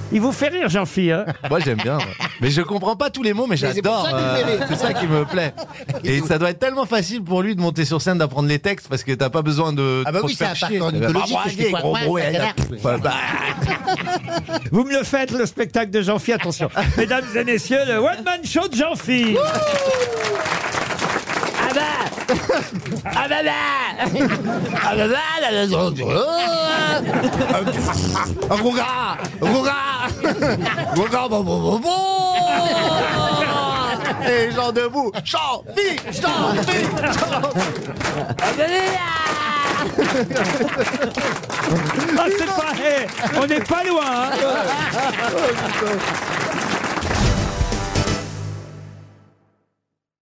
Il vous fait rire, Jean-Philippe, hein? Moi j'aime bien. Mais je comprends pas tous les mots, mais j'adore. C'est ça qui me plaît. Et ça doit être tellement facile pour lui de monter sur scène, d'apprendre les textes, parce que t'as pas besoin de. Ah bah trop oui, te c'est faire un chier. parcours mythologique. Bah, Je fais quoi, gros ouais, bruit, c'est Vous me le faites, le spectacle de Jean-Philippe, attention. Mesdames et messieurs, le one-man show de Jean-Philippe. Ah bah ah bah bah ah bah bah Et gens debout. Jean-Philippe. Ah, c'est pas... on n'est pas loin, hein.